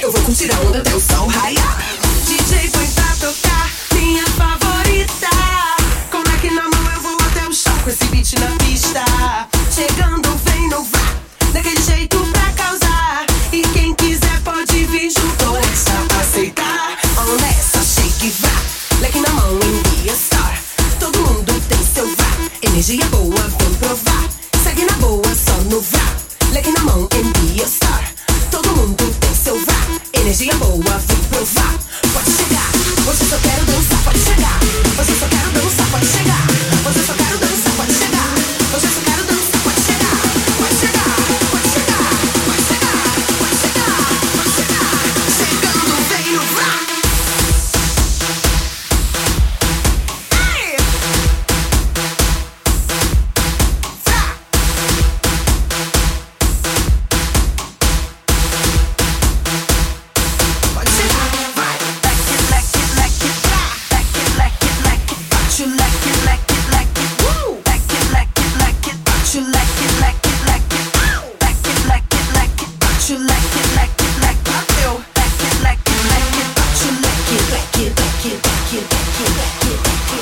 Eu vou curtir a onda até o sol raiar. DJ põe pra tocar minha favorita. Com leque na mão eu vou até o chão com esse beat na pista. Chegando vem, não vá, daquele jeito pra causar. E quem quiser pode vir junto, essa aceitar. On nessa, shake e vá, leque na mão em Be a Star. Todo mundo tem seu vá, energia boa, vem provar. Segue na boa, só no vá, leque na mão em Be a Star. Todo mundo tem seu vá, energia boa, vem provar. Pode chegar, você só quero dançar, pode chegar. Você só quero dançar, pode chegar. Você só quero dançar, pode chegar. Você só quero dançar, pode chegar. Pode chegar, pode chegar, pode chegar, pode chegar, pode chegar. Chegando, vem no vá. Ei! Vá! Pode chegar, vai. Leque, leque, leque, vá. Leque, leque, leque, bate o leque, leque, leque. Leque, leque, leque, bate o leque, leque, leque. Leque, leque, leque, bate o leque, leque, leque. Bateu. Leque, leque, leque, bate o leque, leque, leque, leque, leque, leque,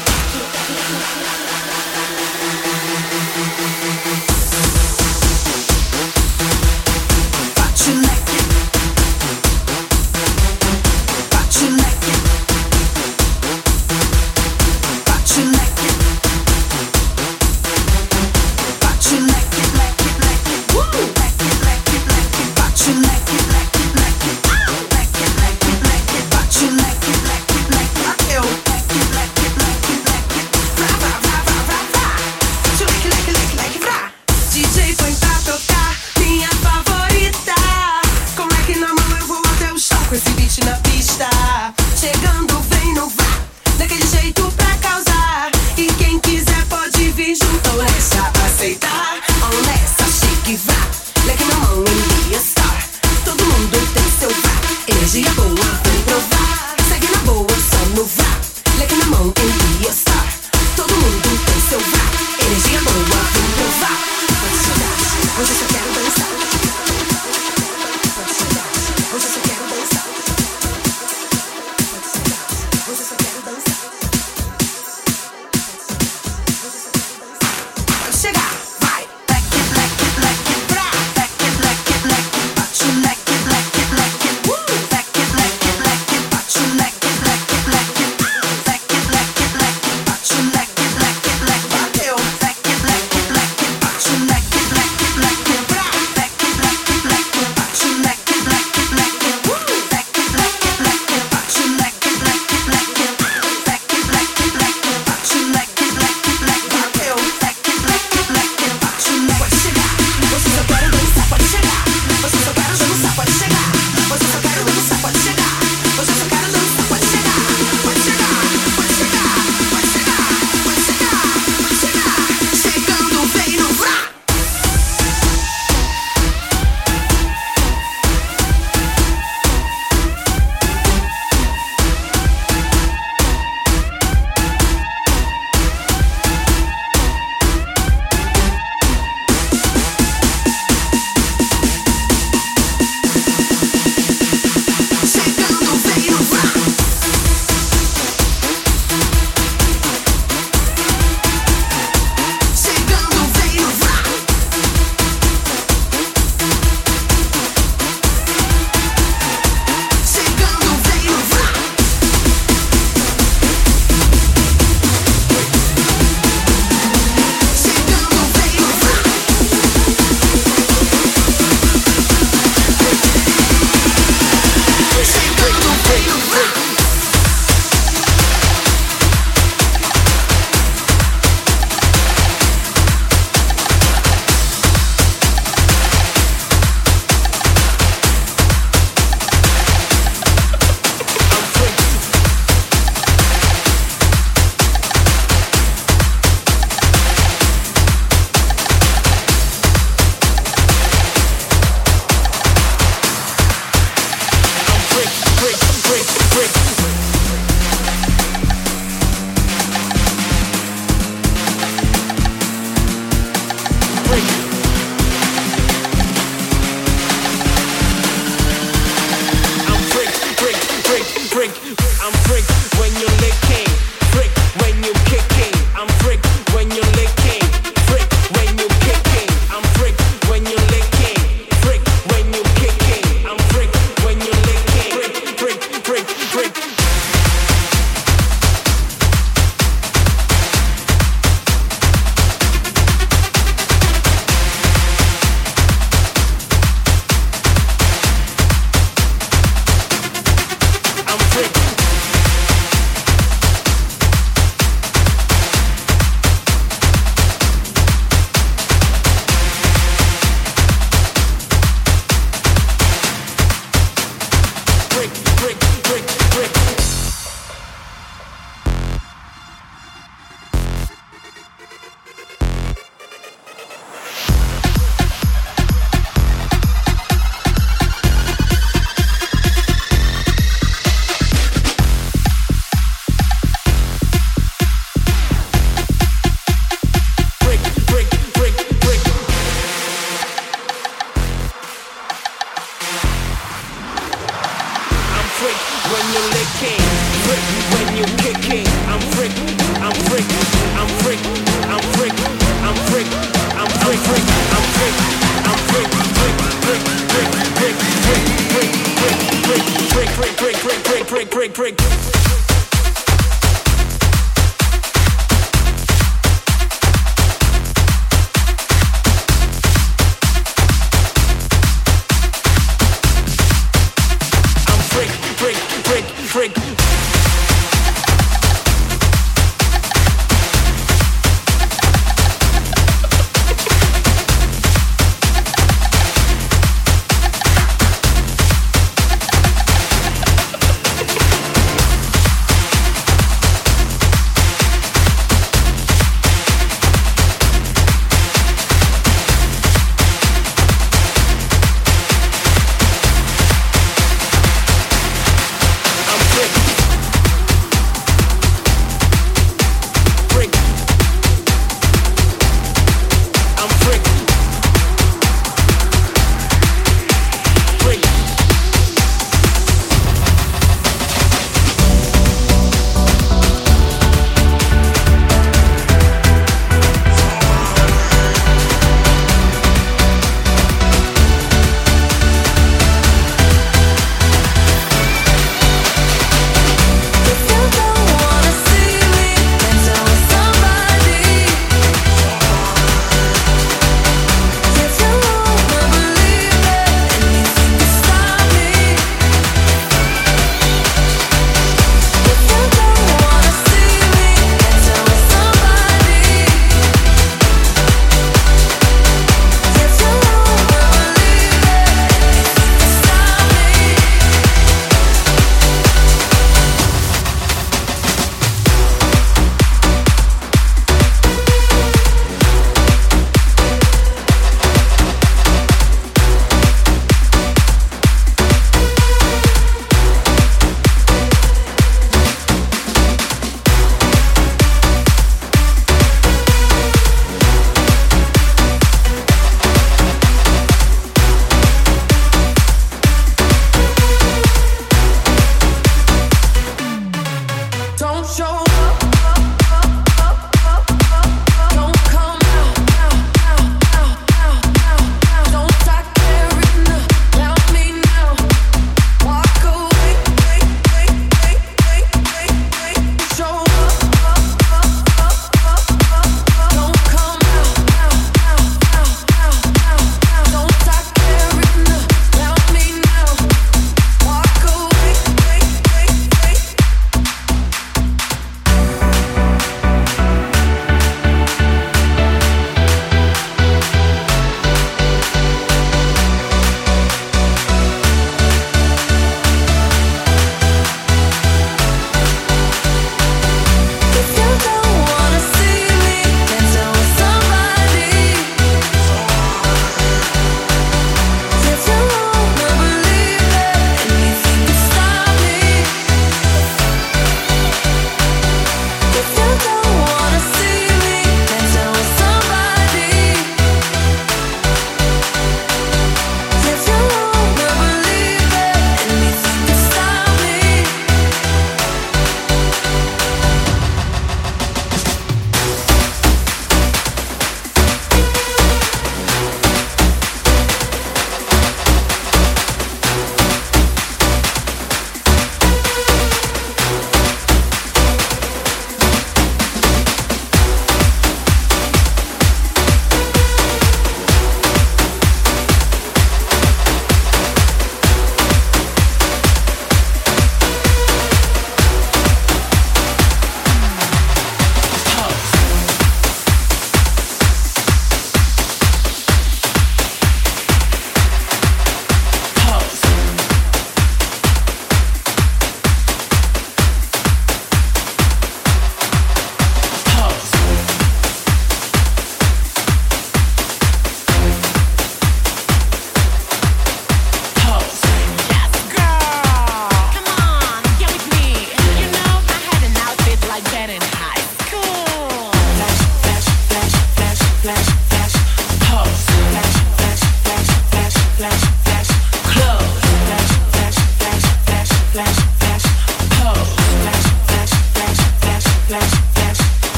bate o leque, bate o leque, bate o leque, bate o leque, leque, leque. Leque, leque, leque, bate o leque, leque, leque. Leque, leque, leque, bate o leque, leque, leque. Bateu. Leque, leque, leque, leque. Vrá, vrá, vrá, vrá, vrá, vrá. Bate o leque, leque, leque, leque, vrá. DJ põe pra tocar minha favorita. Com leque na mão eu vou até o chão com esse beat na pista. Chegando vem, não vá, daquele jeito pra causar. E quem quiser pode vir junto, nessa aceitar. On nessa, shake e vá, leque na mão em Be a Star. Todo mundo tem seu vá, energia boa, vem provar. Segue na boa, só no vá, leque na mão em Be a Star. Todo mundo tem seu vá, energia boa, vem provar. Pode chegar, hoje eu só quero dançar. Pode chegar, hoje eu só quero dançar.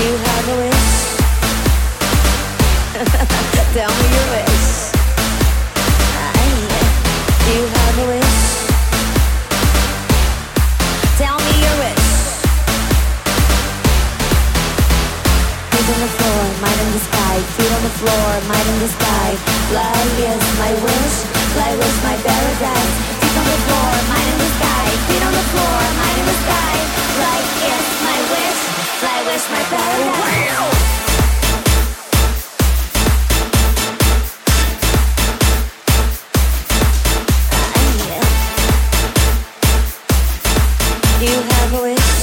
you have a wish? Tell me your wish. Do you have a wish? Tell me your wish. Feet on the floor, mind in the sky. Feet on the floor, mind in the sky. Fly is my wish. Fly was my paradise. Feet on the floor, mind in the sky. Feet on the floor, mind in the sky. Fly is my wish. Fly was my paradise. Wow! You have a wish.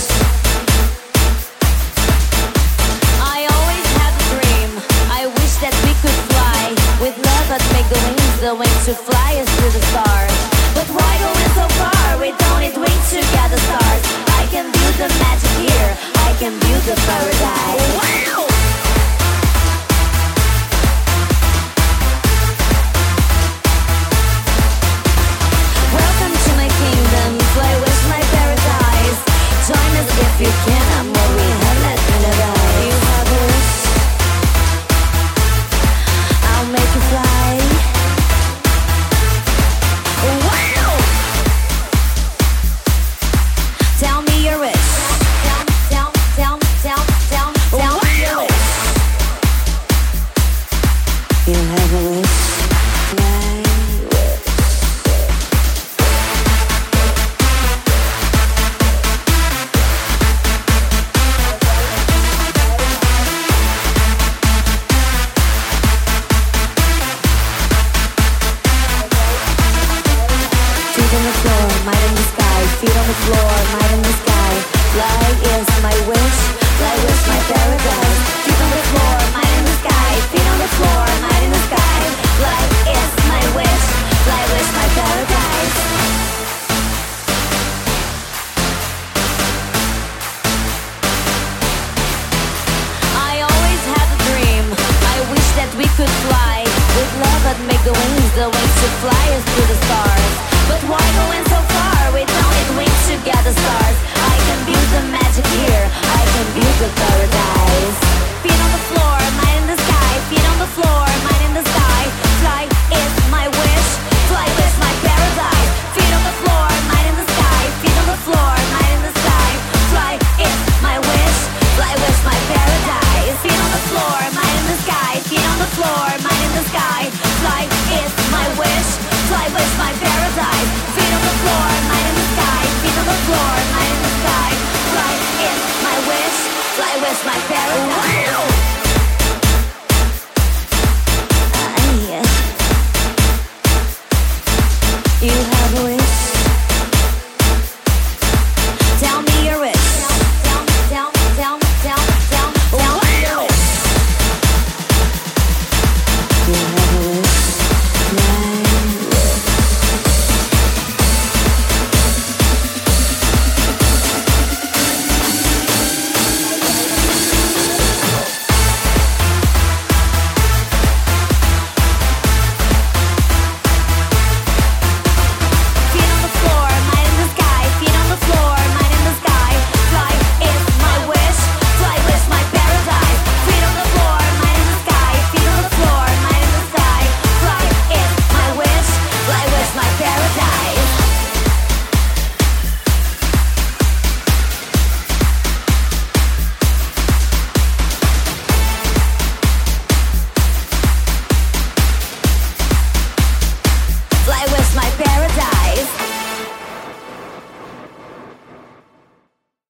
I always had a dream. I wish that we could fly with love that make the wings to fly us to the stars. But why going so far? We don't need wings to get the stars. I can build the magic here. I can build the paradise. Wow! Welcome to my kingdom. Fly with my paradise. Join us if you can. I'm what we have left in the light. You have a wish. I'll make you fly. Wow! Tell me your wish. Tell me your wish. You have a wish. My wish. Feet on the floor, might in the sky. Feet on the floor, might in the sky. Fly is my wish. Fly is my paradise. Feet on the floor, might in the sky. Feet on the floor, might in the sky. Fly is my wish. Fly is my paradise. I always had a dream. I wish that we could fly with love that make the wings to fly us to the stars. But why going so far? We don't need wings to get the stars. I can build the magic here. I can build the paradise. Feet on the floor, mind in the sky. Feet on the floor, mind in the sky. Fly is my wish. Fly is my paradise. Feet on the floor, mind in the sky. Feet on the floor, mind in the sky. Fly is my wish. Fly is my paradise. Feet on the floor, mind in the sky. Feet on the floor, mind in the sky. Fly is my wish. Fly with my paradise. Feet on the floor, mind in the sky. Feet on the floor, mind in the sky. Fly is my wish. Fly with my paradise.